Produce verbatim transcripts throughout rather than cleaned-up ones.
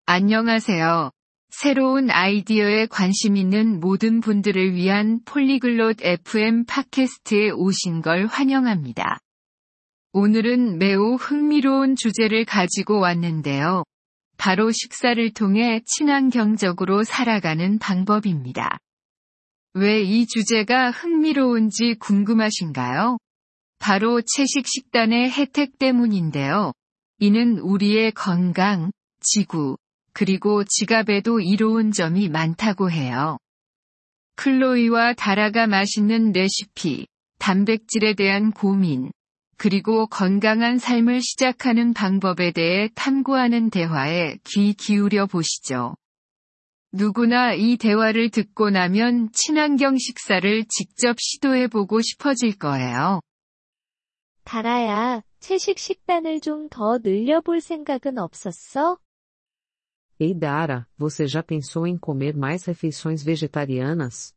안녕하세요. 새로운 아이디어에 관심 있는 모든 분들을 위한 폴리글롯 에프엠 팟캐스트에 오신 걸 환영합니다. 오늘은 매우 흥미로운 주제를 가지고 왔는데요. 바로 식사를 통해 친환경적으로 살아가는 방법입니다. 왜 이 주제가 흥미로운지 궁금하신가요? 바로 채식 식단의 혜택 때문인데요. 이는 우리의 건강, 지구, 그리고 지갑에도 이로운 점이 많다고 해요. 클로이와 다라가 맛있는 레시피, 단백질에 대한 고민, 그리고 건강한 삶을 시작하는 방법에 대해 탐구하는 대화에 귀 기울여 보시죠. 누구나 이 대화를 듣고 나면 친환경 식사를 직접 시도해보고 싶어질 거예요. 다라야, 채식 식단을 좀 더 늘려볼 생각은 없었어? Ei Dara, você já pensou em comer mais refeições vegetarianas?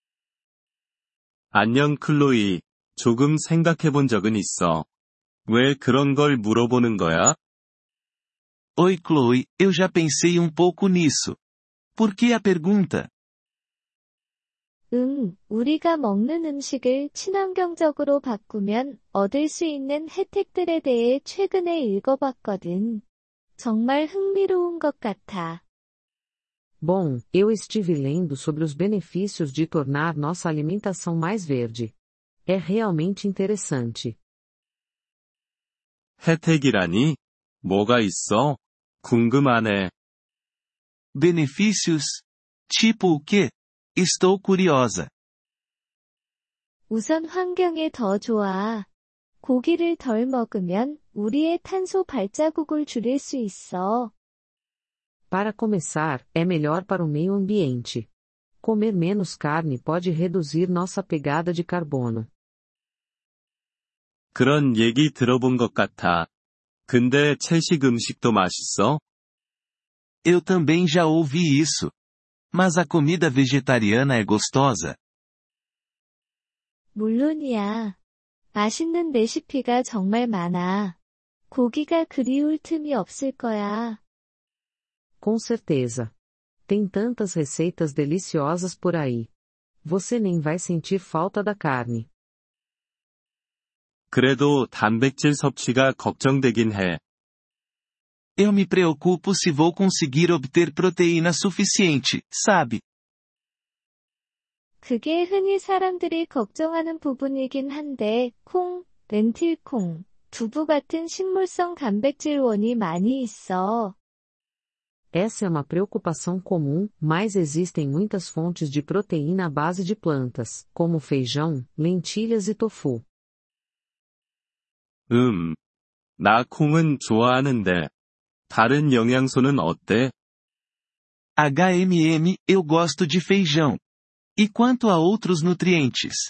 안녕 클로이, 조금 생각해본 적은 있어. 왜 그런 걸 물어보는 거야? Oi Chloe, eu já pensei um pouco nisso. Por que a pergunta? 응, 우리가 먹는 음식을 친환경적으로 바꾸면 얻을 수 있는 혜택들에 대해 최근에 읽어봤거든. 정말 흥미로운 것 같아. Bom, eu estive lendo sobre os benefícios de tornar nossa alimentação mais verde. É realmente interessante. 혜택이라니? 뭐가 있어? 궁금하네. Benefícios? Tipo o quê? Estou curiosa. 우선 환경에 더 좋아. 고기를 덜 먹으면 우리의 탄소 발자국을 줄일 수 있어. Para começar, é melhor para o meio ambiente. Comer menos carne pode reduzir nossa pegada de carbono. 그런 얘기 들어본 것 같아. 근데 채식 음식도 맛있어? Eu também já ouvi isso. Mas a comida vegetariana é gostosa? 물론이야. 맛있는 레시피가 정말 많아. 고기가 그리울 틈이 없을 거야. Com certeza. Tem tantas receitas deliciosas por aí. Você nem vai sentir falta da carne. 그래도 단백질 섭취가 걱정되긴 해. Eu me preocupo se vou conseguir obter proteína suficiente, sabe? 그게 흔히 사람들이 걱정하는 부분이긴 한데, 콩, 렌틸콩, 두부 같은 식물성 단백질원이 많이 있어. Essa é uma preocupação comum, mas existem muitas fontes de proteína à base de plantas, como feijão, lentilhas e tofu. 음. 나 콩은 좋아하는데. 다른 영양소는 어때? H M M, eu gosto de feijão. E quanto a outros nutrientes?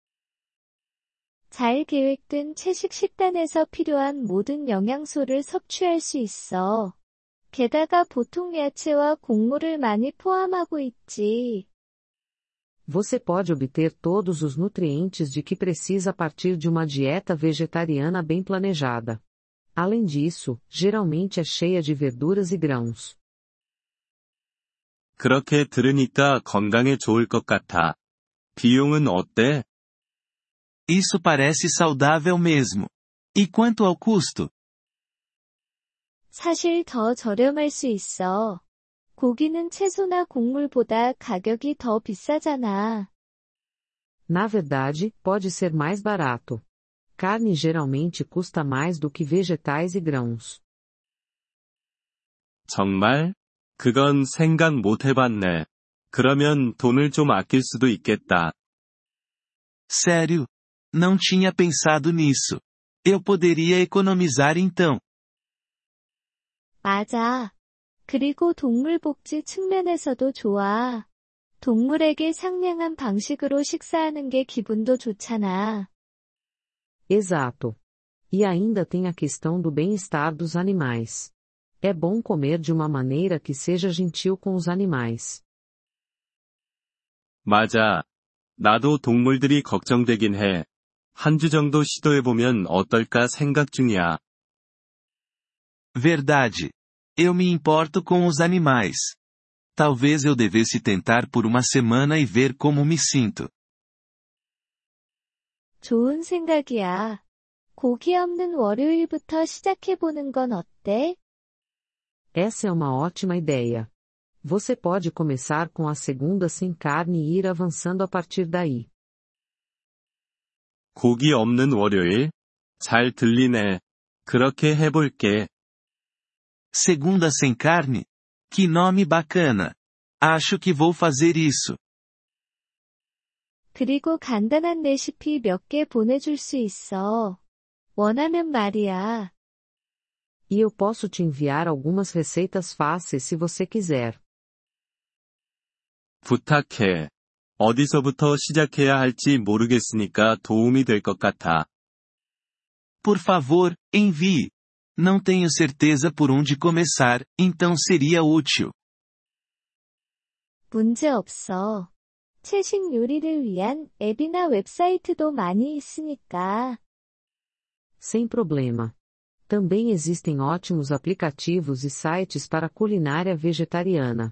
잘 계획된 채식 식단에서 필요한 모든 영양소를 섭취할 수 있어. 게다가 보통 야채와 곡물을 많이 포함하고 있지. Você pode obter todos os nutrientes de que precisa a partir de uma dieta vegetariana bem planejada. Além disso, geralmente é cheia de verduras e grãos. 그렇게 들으니까 건강에 좋을 것 같아. 비용은 어때? Isso parece saudável mesmo. E quanto ao custo? 사실 더 저렴할 수 있어. 고기는 채소나 곡물보다 가격이 더 비싸잖아. Na verdade, pode ser mais barato. Carne geralmente custa mais do que vegetais e grãos. 정말? 그건 생각 못 해봤네. 그러면 돈을 좀 아낄 수도 있겠다. Sério? Não tinha pensado nisso. Eu poderia economizar então. 맞아. 그리고 동물 복지 측면에서도 좋아. 동물에게 상냥한 방식으로 식사하는 게 기분도 좋잖아. Exato. E ainda tem a questão do bem-estar dos animais. É bom comer de uma maneira que seja gentil com os animais. 맞아. 나도 동물들이 걱정되긴 해. 한 주 정도 시도해보면 어떨까 생각 중이야. Verdade. Eu me importo com os animais. Talvez eu devesse tentar por uma semana e ver como me sinto. 좋은 생각이야. 고기 없는 월요일부터 시작해보는 건 어때? Essa é uma ótima ideia. Você pode começar com a segunda sem carne e ir avançando a partir daí. 고기 없는 월요일? 잘 들리네. 그렇게 해볼게. Segunda sem carne? Que nome bacana. Acho que vou fazer isso. 그리고 간단한 레시피 몇 개 보내줄 수 있어. 원하면 말이야. E eu posso te enviar algumas receitas fáceis se você quiser. 부탁해. 어디서부터 시작해야 할지 모르겠으니까 도움이 될 것 같아. Por favor, envie. Não tenho certeza por onde começar, então seria útil. 문제 없어. 채식 요리를 위한 앱이나 웹사이트도 많이 있으니까. Sem problema. Também existem ótimos aplicativos e sites para culinária vegetariana.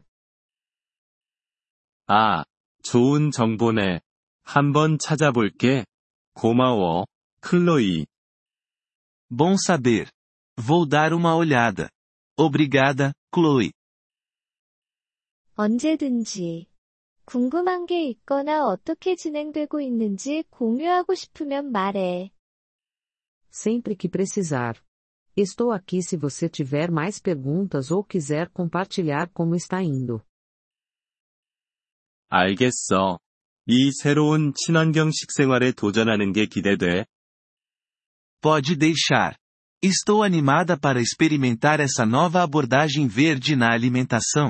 아, 좋은 정보네. 한번 찾아볼게. 고마워, 클로이. Bom saber. Vou dar uma olhada. Obrigada, Chloe. 언제든지. 궁금한 게 있거나 어떻게 진행되고 있는지 공유하고 싶으면 말해. Sempre que precisar. Estou aqui se você tiver mais perguntas ou quiser compartilhar como está indo. 알겠어. 이 새로운 친환경 식생활에 도전하는 게 기대돼. Pode deixar. Estou animada para experimentar essa nova abordagem verde na alimentação.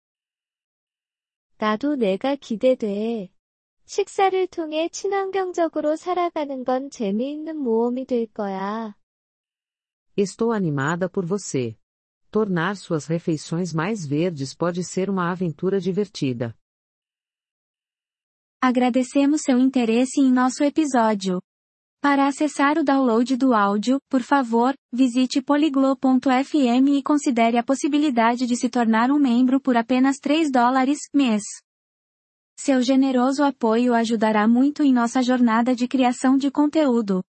나도 내가 기대돼. 식사를 통해 친환경적으로 살아가는 건 재미있는 모험이 될 거야. Estou animada por você. Tornar suas refeições mais verdes pode ser uma aventura divertida. Agradecemos seu interesse em nosso episódio. Para acessar o download do áudio, por favor, visite poliglo ponto f m e considere a possibilidade de se tornar um membro por apenas três dólares mês. Seu generoso apoio ajudará muito em nossa jornada de criação de conteúdo.